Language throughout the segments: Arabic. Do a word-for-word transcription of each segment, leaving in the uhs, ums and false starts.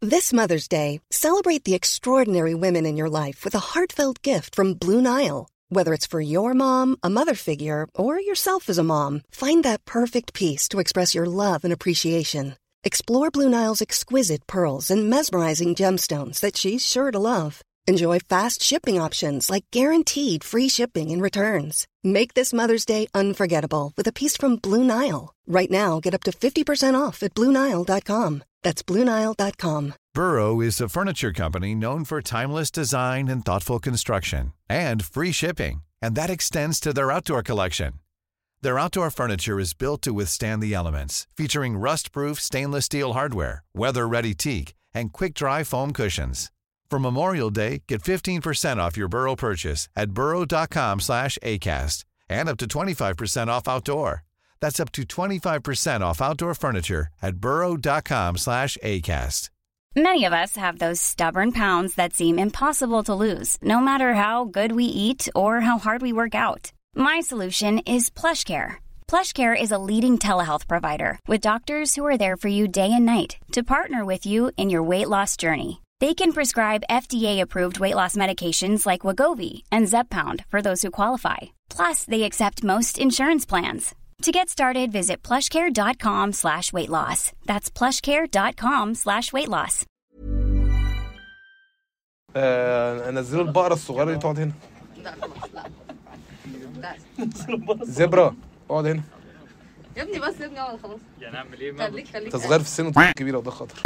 This Mother's Day, celebrate the extraordinary women in your life with a heartfelt gift from Blue Nile. Whether it's for your mom, a mother figure, or yourself as a mom, find that perfect piece to express your love and appreciation. Explore Blue Nile's exquisite pearls and mesmerizing gemstones that she's sure to love. Enjoy fast shipping options like guaranteed free shipping and returns. Make this Mother's Day unforgettable with a piece from Blue Nile. Right now, get up to fifty percent off at Blue Nile dot com. That's Blue Nile dot com. Burrow is a furniture company known for timeless design and thoughtful construction, and free shipping, and that extends to their outdoor collection. Their outdoor furniture is built to withstand the elements, featuring rust-proof stainless steel hardware, weather-ready teak, and quick-dry foam cushions. For Memorial Day, get fifteen percent off your Burrow purchase at burrow dot com slash acast, and up to twenty-five percent off outdoor. That's up to twenty-five percent off outdoor furniture at burrow dot com slash acast. Many of us have those stubborn pounds that seem impossible to lose, no matter how good we eat or how hard we work out. My solution is PlushCare. PlushCare is a leading telehealth provider with doctors who are there for you day and night to partner with you in your weight loss journey. They can prescribe F D A-approved weight loss medications like Wegovy and Zepbound for those who qualify. Plus, they accept most insurance plans. To get started, visit plushcare.com slash weight loss. That's plushcare.com slash weight loss. آه، انزلوا البقرة الصغيرة دي تقعد هنا. لا خلاص لا. لا. زبرة اقعد هنا. يا ابني بس يا ابني اقعد خلاص. يعني اعمل ايه؟ خليك خليك. انت صغير في السن وطول كبيرة وده خطر.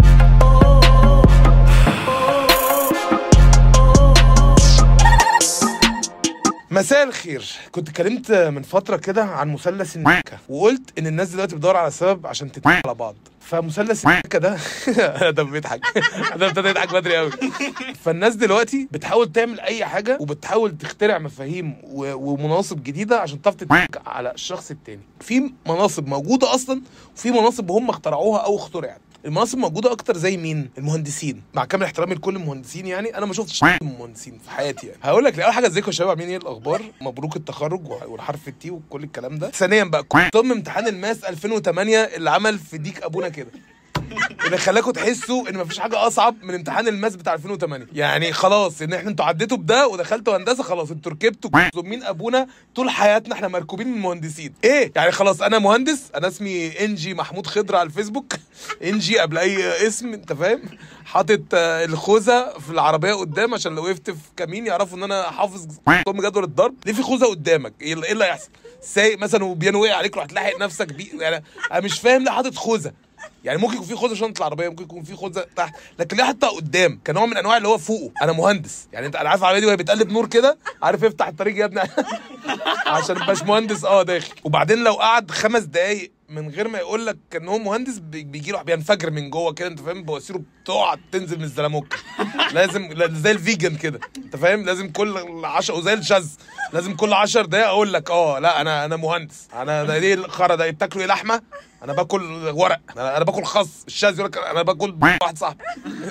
مساء الخير. كنت اتكلمت من فترة كده عن مثلث النكة، وقلت ان الناس دلوقتي بتدور على سبب عشان تتنكة على بعض. فمثلث النكة ده ده بيضحك ده ابتدى يضحك بدري قوي. فالناس دلوقتي بتحاول تعمل اي حاجة وبتحاول تخترع مفاهيم ومناصب جديدة عشان تعرف تتنكة على الشخص التاني. في مناصب موجودة اصلا وفي مناصب هم اخترعوها او اخترعت. المناصب موجوده اكتر زي مين؟ المهندسين. مع كامل احترامي لكل المهندسين، يعني انا ما شفتش مهندسين في حياتي. يعني هقول لك اول حاجه، ازيكم يا شباب، عاملين ايه الاخبار؟ مبروك التخرج والحرف التي وكل الكلام ده. ثانيا بقى، ضمن امتحان الماس ألفين وثمانية اللي عمل في ديك ابونا كده، اللي خلاكم تحسوا ان مفيش حاجه اصعب من امتحان الماس بتاع ألفين وثمانية. يعني خلاص ان احنا انتوا عديتوا بده ودخلتوا هندسه، خلاص انتوا ركبتوا زمين ابونا. طول حياتنا احنا مركوبين من المهندسين. ايه يعني خلاص انا مهندس، انا اسمي انجي محمود خضر على الفيسبوك، انجي قبل اي اسم، انت فاهم؟ حاطط الخوذه في العربيه قدام عشان لو وقفت في كمين يعرفوا ان انا حافظ ضم جدول الضرب. ليه في خوذه قدامك؟ ايه اللي هيحصل؟ سايق مثلا وبيانو وقع عليك، روح تلاحق نفسك بيه. يعني انا مش فاهم ليه حاطط خوذه. يعني ممكن يكون في خوذه شنطه العربيه، ممكن يكون في خوذه تحت، لكن ليه حطها قدام؟ كنوع من انواع اللي هو فوقه. انا مهندس، يعني انت انا عارف العربيه دي وهي بتقلب نور كده، عارف افتح الطريق يا ابني عشان الباش مهندس اه داخل. وبعدين لو قعد خمس دقايق من غير ما يقول لك ان هو مهندس، بيجي له بينفجر من جوه كده، انت فاهم؟ بواسيره بتقع تنزل من الزلموك. لازم زي الفيجن كده، انت فاهم؟ لازم كل عشرة وزي الشاذ لازم كل عشر دقايق اقول لك اه لا انا انا مهندس. انا ده ايه الخرا ده؟ بتاكلوا ايه لحمه؟ انا باكل ورق. انا, أنا باكل خس. الشاذ يقول لك انا باكل واحد صاحبي.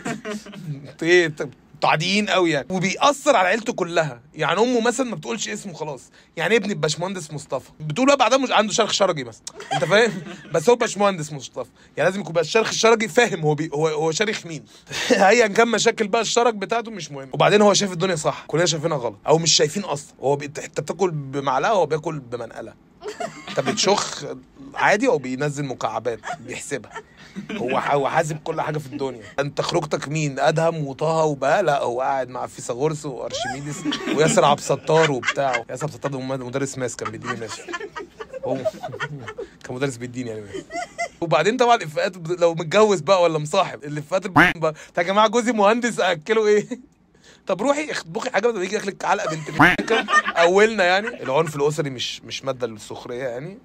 ايه تعديين قوي يعني. وبيأثر على عيلته كلها. يعني امه مثلا ما بتقولش اسمه خلاص، يعني ابني الباشمهندس مصطفى، بتقول بقى بعدها مش عنده شرخ شرجي مثلا، انت فاهم؟ بس هو باشمهندس مصطفى، يعني لازم يكون بقى الشرخ الشرجي فاهم هو بي هو هو شارخ مين. هيا كان مشاكل بقى الشرج بتاعته مش مهم. وبعدين هو شايف الدنيا صح، كلنا شايفينها غلط او مش شايفين اصلا. هو بي... انت بتاكل بمعلقه وهو بياكل بمنقله. انت بتشخ عادي او بينزل مكعبات بيحسبها. هو هو حاسب كل حاجه في الدنيا. انت خروجتك مين؟ ادهم وطه وبقى؟ لا، هو قاعد مع فيثاغورس وارشميدس وياسر عبد الستار وبتاعه. ياسر عبد الستار ده مدرس ماس كان بيديني ماس. هو كان مدرس بيديني يعني ماس. وبعدين طبعا الافات لو متجوز بقى ولا مصاحب، الافات بقى يا جماعه جوزي مهندس اكله ايه؟ طب روحي اطبخي حاجه بدل ما يجي ياكلك علقه بنت اولنا. يعني العنف الاسري مش مش ماده للسخريه يعني.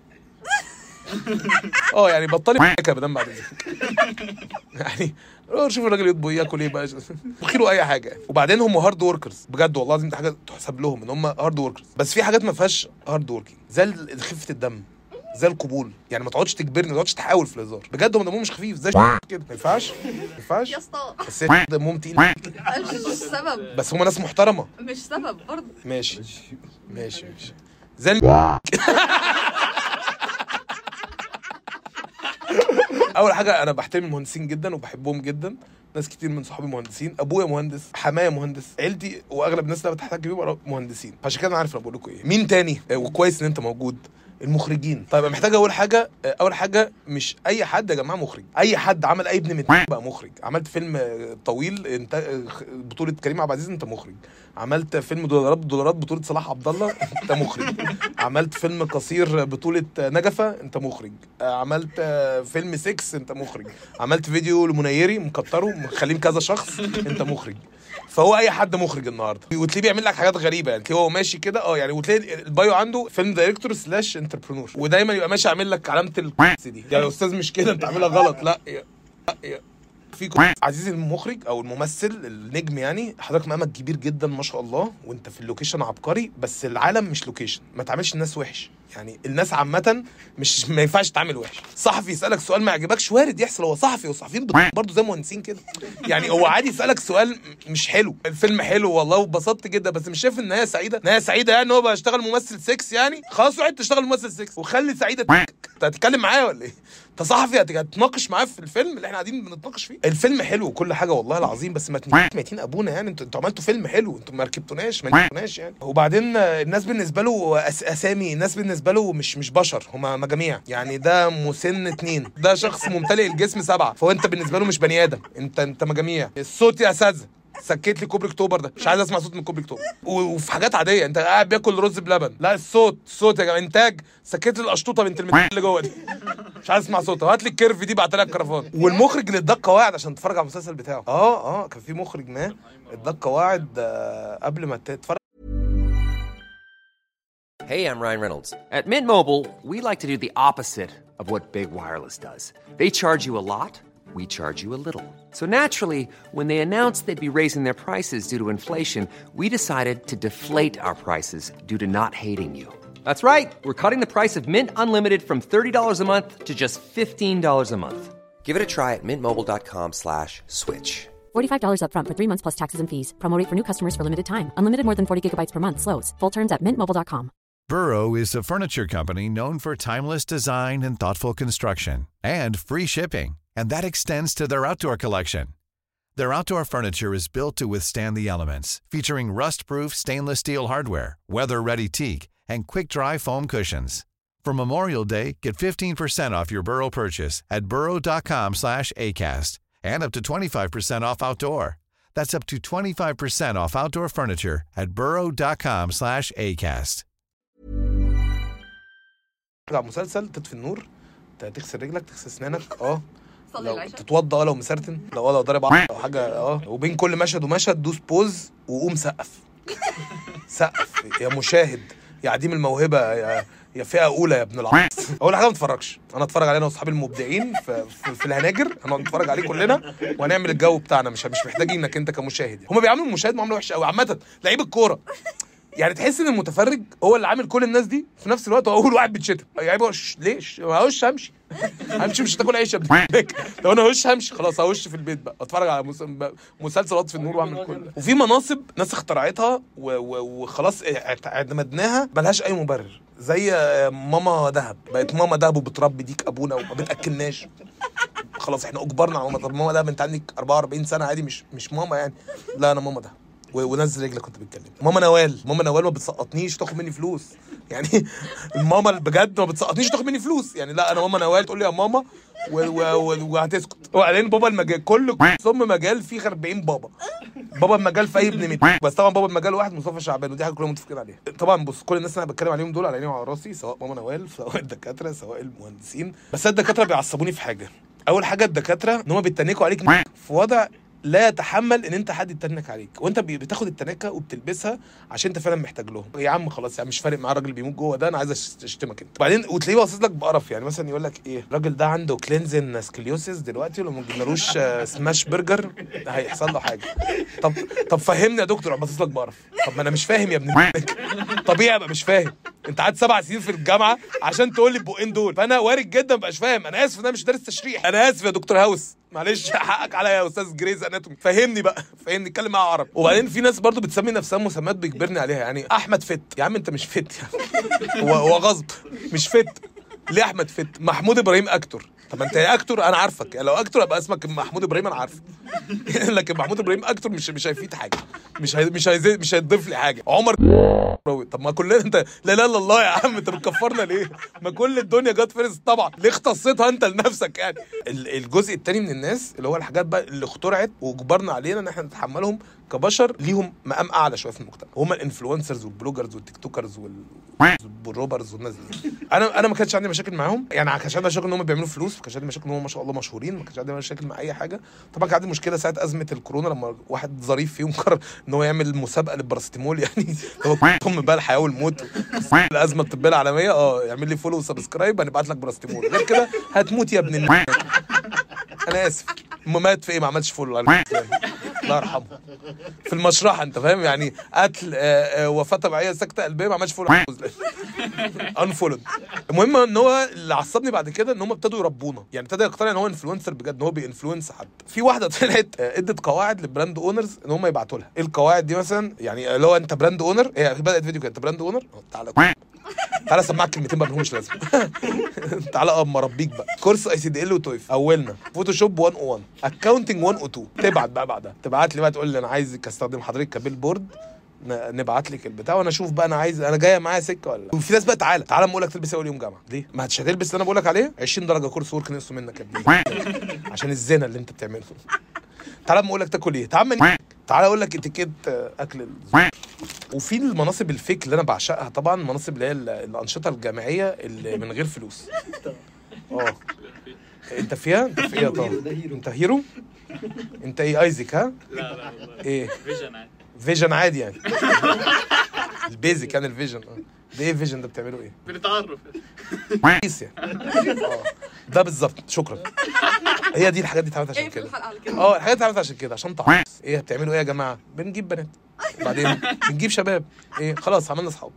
اه يعني بطلي حكايه بدل بعد يعني شوف الراجل يطبخ ياكل ايه بقى، بخيله اي حاجه. وبعدين هم هارد وركرز بجد والله العظيم، دي حاجه تحسب لهم ان هم هارد وركرز. بس في حاجات ما فيهاش هارد وركينج، زي خفه الدم، زي القبول. يعني ما تقعدش تجبرني، ما تقعدش تحاول في الهزار. بجد هم دمهم مش خفيف زي كده، ما ينفعش ما ينفعش يا اسطى. بس دمهم تقيل مش سبب، بس هم ناس محترمه. مش سبب برضه. ماشي ماشي ماشي زي اول حاجه انا بحترم المهندسين جدا وبحبهم جدا، ناس كتير من صحابي مهندسين، ابويا مهندس، حماية مهندس، عيلتي واغلب الناس اللي بتحتاج بيهم مهندسين، عشان كده انا عارف انا بقول لكم ايه. مين تاني وكويس ان انت موجود؟ المخرجين. طيب محتاج اول حاجه اول حاجه مش اي حد يا جماعه مخرج، اي حد عمل اي ابن مت بقى مخرج. عملت فيلم طويل انت بطوله كريم عبد العزيز انت مخرج، عملت فيلم دولارات دولارات بطوله صلاح عبد الله انت مخرج، عملت فيلم قصير بطوله نجفه انت مخرج، عملت فيلم سكس انت مخرج، عملت فيديو لمنيري مكتره مخليه كذا شخص انت مخرج. فهو اي حد مخرج النهارده، وتلاقيه بيعمل لك حاجات غريبه يعني، هو ماشي كده اه يعني، وتلاقي البايو عنده فيلم دايركتور سلاش انتربرنور، ودايما يبقى ماشي عامل لك علامه الكويس دي، يعني يا استاذ مش كده انت عاملها غلط، لا يا يا في عزيزي المخرج او الممثل النجم يعني، حضرتك مقامك كبير جدا ما شاء الله، وانت في اللوكيشن عبقري، بس العالم مش لوكيشن، ما تعملش الناس وحش يعني، الناس عامه مش ما ينفعش تعمل وحش. صحفي يسالك سؤال ما يعجبكش وارد يحصل، هو صحفي والصحفيين برضه زي مهندسين كده يعني، هو عادي يسالك سؤال مش حلو، الفيلم حلو والله واتبسطت جدا بس مش شايف ان هي سعيده، ان هي سعيده يعني هو بقى اشتغل ممثل سكس يعني، خلاص روح تشتغل ممثل سكس وخلي سعيده. انت هتتكلم معايا ولا ايه؟ انت صحفي هتتناقش معاه في الفيلم اللي احنا قاعدين بنتناقش فيه؟ الفيلم حلو وكل حاجه والله العظيم، بس ما ميتين ابونا يعني، انتوا انتوا عملتوا فيلم حلو، انتوا ما ركبتوناش ما ركبتوناش يعني. وبعدين الناس بالنسبه له أس اسامي، الناس بالنسبه له مش مش بشر، هم مجاميع يعني، ده مسن اتنين، ده شخص ممتلئ الجسم سبعه، فهو انت بالنسبه له مش بني ادم، انت انت مجاميع. الصوت يا اساتذه سكت لي كوبري اكتوبر ده، مش عايز اسمع صوت من كوبري اكتوبر. وفي حاجات عاديه انت قاعد بياكل رز بلبن، لا الصوت الصوت يا جماعه انتاج، سكت لي القشطوطه بنت المدينه اللي جوه دي، مش عايز اسمع صوتها، هات لي الكيرف دي بعت لها الكرفان. والمخرج اللي اداك قواعد عشان تتفرج على المسلسل بتاعه، اه اه كان في مخرج ما اداك قواعد آه قبل ما تتفرج. Hey, I'm Ryan Reynolds. At Mint Mobile, we like to do the opposite of what Big Wireless does. They charge you a lot, we charge you a little. So naturally, when they announced they'd be raising their prices due to inflation, we decided to deflate our prices due to not hating you. That's right. We're cutting the price of Mint Unlimited from thirty dollars a month to just fifteen dollars a month. Give it a try at mintmobile.com slash switch. forty-five dollars up front for three months plus taxes and fees. Promo rate for new customers for limited time. Unlimited more than forty gigabytes per month slows. Full terms at mint mobile dot com. Burrow is a furniture company known for timeless design and thoughtful construction, and free shipping, and that extends to their outdoor collection. Their outdoor furniture is built to withstand the elements, featuring rust-proof stainless steel hardware, weather-ready teak, and quick-dry foam cushions. For Memorial Day, get fifteen percent off your Burrow purchase at burrow.com slash ACAST, and up to twenty-five percent off outdoor. That's up to twenty-five percent off outdoor furniture at burrow.com slash ACAST. مسلسل تطفي النور، تغسل رجلك، تغسل اسنانك، اه لو تتوضى، لو مسرتن، لو لو ضارب او حاجه، اه وبين كل مشهد ومشهد دوس بوز وقوم سقف سقف يا مشاهد، يا عديم الموهبه، يا يا فئه اولى يا ابن العصر. اول حاجه ما تتفرجش، انا اتفرج علينا واصحابي المبدعين في, في, في الهناجر، هنقعد نتفرج عليه كلنا وهنعمل الجو بتاعنا، مش مش محتاجينك انت كمشاهد. هم بيعاملوا المشاهد معامله وحشه قوي عامه، لعيب الكوره يعني، تحس ان المتفرج هو اللي عامل كل الناس دي في نفس الوقت، هو اول واحد بيتشتم يعني، بقى ليش ما هوش همشي همشي مش هتاكل عيش يا ابني، لو انا هوش همشي خلاص، هوش في البيت بقى اتفرج على مسلسل اطفي النور واعمل كل. وفي مناصب ناس اخترعتها وخلاص اعتمدناها ملهاش اي مبرر، زي ماما دهب، بقت ماما دهب وبتربي ديك ابونا وما بتاكلناش، خلاص احنا اجبرنا على ماما. طب ماما دهب انت عندك أربعة وأربعين سنه عادي، مش مش ماما يعني، لا انا ماما دهب. ونزل رجلك كنت بتكلم. ماما نوال، ماما نوال ما بتسقطنيش تاخد مني فلوس يعني، الماما بجد ما بتسقطنيش تاخد مني فلوس يعني، لا انا ماما نوال تقول لي يا ماما وهتسكت. وبعدين بابا المجال كل ثم مجال فيه أربعين بابا، بابا المجال في اي ابن ميت، بس طبعا بابا المجال واحد مصطفى شعبان، ودي حاجه كلنا متفقين عليها. طبعا بص، كل الناس اللي انا بتكلم عليهم دول على عيني وعلى راسي، سواء ماما نوال، سواء الدكاتره، سواء المهندسين، بس الدكاتره بيعصبوني في حاجه. اول حاجه الدكاتره ان هم بيتنكوا عليك في وضع لا يتحمل ان انت حد يتنك عليك، وانت بتاخد التنكه وبتلبسها عشان انت فعلا محتاج لهم. يا عم خلاص يعني مش فارق معاه الراجل بيموت جوه ده، انا عايز اشتمك انت. بعدين وتلاقيه باصص لك بقرف يعني، مثلا يقول لك ايه، الراجل ده عنده كلينزن سكليوسيس دلوقتي، ولو ما جبنالوش سماش برجر هيحصل له حاجه. طب طب فهمني يا دكتور، باصص لك بقرف. طب ما انا مش فاهم يا ابن طبيعي ابقى مش فاهم، انت قعدت سبع سنين في الجامعه عشان تقول لي البقين دول، فانا وارد جدا ما بقاش فاهم. انا اسف ان انا مش دارس تشريح، انا اسف يا دكتور هاوس، معلش حقك عليا يا استاذ جريز اناتومي، فهمني بقى، فهمني، اتكلم معايا عربي. وبعدين في ناس برضو بتسمي نفسها مسميات بيجبرني عليها يعني، احمد فت، يا عم انت مش فت يعني، هو هو غصب، مش فت ليه احمد فت؟ محمود ابراهيم اكتور، طب انت يا اكتور انا عارفك، لو اكتور ابقى اسمك محمود ابراهيم انا عارفه. لكن محمود ابراهيم اكتور مش مش هيفيد حاجه، مش هي مش هيزيد مش هيضيف لي حاجه. عمر طب ما كلنا انت لا لا لا الله يا عم انت بتكفرنا ليه؟ ما كل الدنيا جت فارس طبعا، ليه اختصيتها انت لنفسك يعني؟ الجزء الثاني من الناس اللي هو الحاجات بقى اللي اخترعت وجبرنا علينا ان احنا نتحملهم كبشر ليهم مقام اعلى شويه في المجتمع، هم الانفلونسرز والبلوجرز والتيك توكرز والروبرز والناس دي. انا انا ما كانش عندي مشاكل معاهم، يعني ما كانش عندي مشاكل ان هم بيعملوا فلوس، ما كانش عندي مشاكل ان هم ما شاء الله مشهورين، ما كانش عندي مشاكل مع اي حاجه. طبعا كان عندي مشكله ساعه ازمه الكورونا لما واحد ظريف فيهم قرر ان هو يعمل مسابقه للبارستيمول، يعني هو هم بقى الحياه والموت الازمه الطبيه العالميه، اه يعمل لي فولو وسبسكرايب هنبعت لك بارستيمول، غير كده هتموت يا ابن الناس. انا اسف مات في ايه؟ ما عملش فولو الله يرحمه في المشرحه انت فاهم يعني، قتل وفاه طبيعيه سكته قلبيه ما عملش فولو انفولد. المهم ان هو اللي عصبني بعد كده ان هم ابتدوا يربونا، يعني ابتدى يقتنع ان هو انفلونسر بجد، ان هو بينفلونس حد. في واحده طلعت ادت قواعد للبراند اونرز ان هم يبعتوا لها. ايه القواعد دي مثلا؟ يعني لو انت براند اونر، هي بدات فيديو كده انت براند اونر تعالى تعالى اسمعك كلمتين ما لهمش لازمه. تعالى اه مربيك بقى كورس اي سي دي ال وتويف، اولنا فوتوشوب مية وواحد، اكاونتنج مية واتنين. تبعت بقى بعدها تبعت لي بقى تقول لي انا عايزك استخدم حضرتك كبيل بورد، نبعت لك البتاع وانا اشوف بقى انا عايز انا جايه معايا سكه ولا لا. وفي ناس بقى تعالى تعالى اقول لك تلبس اول يوم جامعه ليه؟ ما هتش هتلبس اللي انا بقول لك عليه عشرين درجه كورس ورك نقصوا منك يا ابني عشان الزنا اللي انت بتعمله. تعالى اقول لك تاكل ايه، تعالى تعالى اقول لك اتيكيت اكل. وفي المناصب الفيك اللي انا بعشقها طبعا، المناصب اللي هي الانشطه الجامعيه اللي من غير فلوس. اه انت فيها؟ انت في ايه طبعا؟ انت هيرو؟ انت ايه ايزك ها؟ لا لا ايه فيجن عادي. فيجن عادي يعني. البيزك يعني الفيجن. اه ده ايه فيجن ده بتعملوا ايه؟ بنتعرف كويس يعني. اه ده بالظبط شكرا. هي دي الحاجات دي اتعملت عشان كده. اه الحاجات دي اتعملت عشان كده عشان تعرف ايه بتعملوا ايه يا جماعه؟ بنجيب بنات بعدين بنجيب شباب، ايه خلاص عملنا اصحاب.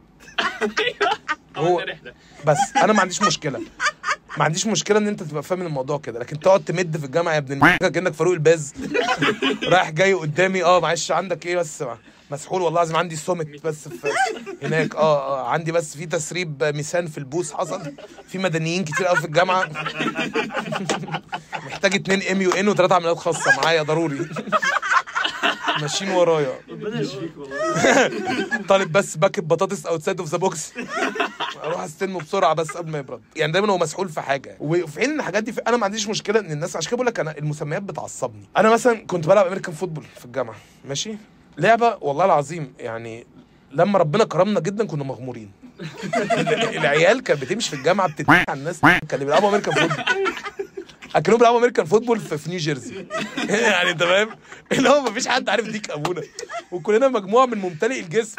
هو بس انا ما عنديش مشكله ما عنديش مشكله ان انت تبقى فاهم الموضوع كده، لكن تقعد تمد في الجامعه يا ابن الناس كانك فاروق الباز رايح جاي قدامي. اه معلش عندك ايه بس مسحول والله لازم عندي سومت بس في هناك. اه اه عندي بس في تسريب ميسان في البوس حصل، في مدنيين كتير قوي في الجامعه محتاج اتنين ام يو ان وثلاثه عمليات خاصه معايا ضروري ماشيين ورايا. ربنا يشفيك والله. طالب بس باكت بطاطس اوتسايد اوف ذا بوكس اروح استلمه بسرعه بس قبل ما يبرد. يعني دايما هو مسحول في حاجه، وفي حين الحاجات دي انا ما عنديش مشكله ان الناس، عشان كده بقول لك انا المسميات بتعصبني. انا مثلا كنت بلعب امريكان فوتبول في الجامعه ماشي، لعبه والله العظيم يعني لما ربنا كرمنا جدا كنا مغمورين. العيال كانت بتمشي في الجامعه بتتنقل على الناس كانوا بيلعبوا امريكان فوتبول، اكنهم بيلعبوا امريكان فوتبول في نيو جيرسي. يعني انت فاهم اللي هو مفيش حد عارف ديك ابونا، وكلنا مجموعه من ممتلئ الجسم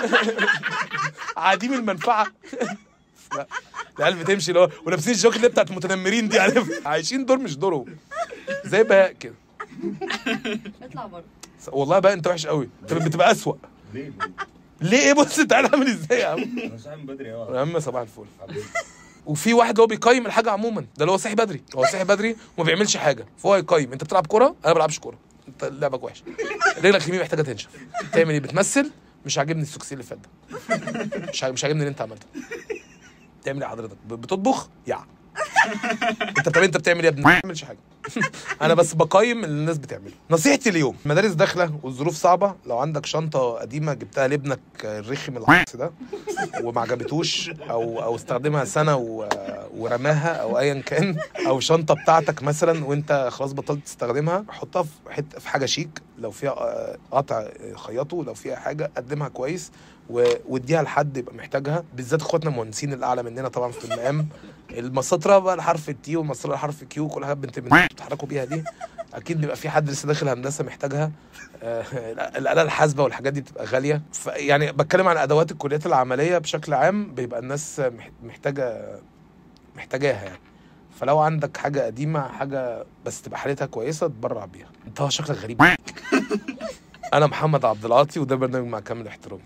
عديم المنفعه. لا العيال بتمشي اللي هو ولابسين الجوكت اللي بتاعت المتنمرين دي، عارف عايشين دور مش دورهم زي بهاء كده. اطلع بره والله بقى انت وحش قوي، انت بتبقى اسوأ. ليه ليه ايه؟ بص انت عامل ازاي يا عم؟ انا صاحي من بدري اه يا عم صباح الفل. وفي واحد هو بيقيم الحاجه عموما، ده اللي هو صاحي بدري، هو صاحي بدري وما بيعملش حاجه فهو يقيم. انت بتلعب كوره؟ انا ما بلعبش كوره. انت لعبك وحش، رجلك اليمين محتاجه تنشف. تعمل ايه؟ بتمثل؟ مش عاجبني السوكسي اللي فات ده، مش مش عاجبني اللي انت عملته. تعمل ايه حضرتك؟ بتطبخ؟ يا انت طب انت بتعمل ايه يا ابني؟ ما بعملش حاجه. انا بس بقيم اللي الناس بتعمله. نصيحتي اليوم، المدارس داخله والظروف صعبه، لو عندك شنطه قديمه جبتها لابنك الرخم العكس ده وما عجبتوش او او استخدمها سنه و... ورماها او ايا كان، او شنطه بتاعتك مثلا وانت خلاص بطلت تستخدمها، حطها في حته في حاجه شيك، لو فيها قطع خيطه، لو فيها حاجه قدمها كويس واديها لحد يبقى محتاجها، بالذات اخواتنا المهندسين اللي اعلى مننا طبعا في المقام. المسطره بقى الحرف التي والمسطره الحرف كيو، كل حاجه بنت بتتحركوا بيها دي اكيد بيبقى في حد لسه داخل هندسه محتاجها. آه الاله الحاسبه والحاجات دي بتبقى غاليه. يعني بتكلم عن ادوات الكليات العمليه بشكل عام، بيبقى الناس محتاجه محتاجاها يعني. فلو عندك حاجه قديمه، حاجه بس تبقى حالتها كويسه، تبرع بيها. انت شكلك غريب. انا محمد عبد العاطي وده برنامج مع كامل احترامي.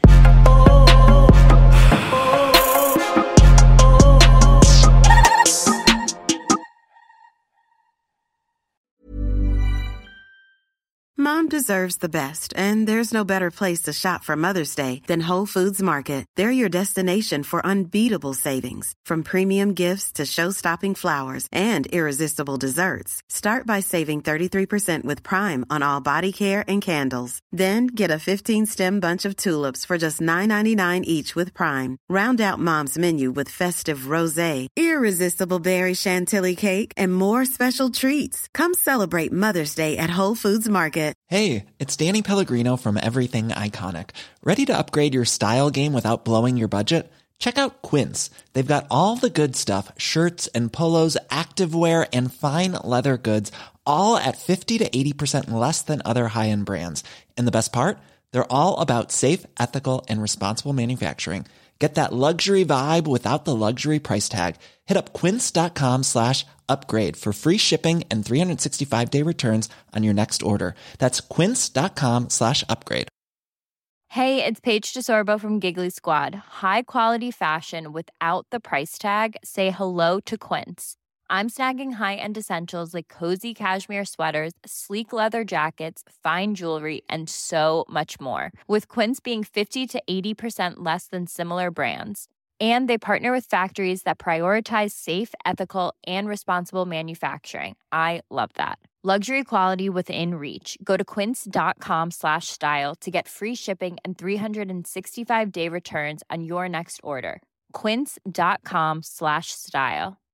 Mom deserves the best, and there's no better place to shop for Mother's Day than Whole Foods Market. They're your destination for unbeatable savings, from premium gifts to show-stopping flowers and irresistible desserts. Start by saving thirty-three percent with Prime on all body care and candles. Then get a fifteen-stem bunch of tulips for just nine ninety-nine each with Prime. Round out Mom's menu with festive rosé, irresistible berry chantilly cake, and more special treats. Come celebrate Mother's Day at Whole Foods Market. Hey, it's Danny Pellegrino from Everything Iconic. Ready to upgrade your style game without blowing your budget? Check out Quince. They've got all the good stuff, shirts and polos, activewear, and fine leather goods, all at fifty to eighty percent less than other high-end brands. And the best part? They're all about safe, ethical, and responsible manufacturing. Get that luxury vibe without the luxury price tag. Hit up quince.com slash upgrade for free shipping and three sixty-five day returns on your next order. That's quince.com slash upgrade. Hey, it's Paige DeSorbo from Giggly Squad. High quality fashion without the price tag. Say hello to Quince. I'm snagging high-end essentials like cozy cashmere sweaters, sleek leather jackets, fine jewelry, and so much more. With Quince being fifty to eighty percent less than similar brands. And they partner with factories that prioritize safe, ethical, and responsible manufacturing. I love that. Luxury quality within reach. Go to quince.com slash style to get free shipping and three sixty-five day returns on your next order. Quince.com slash style.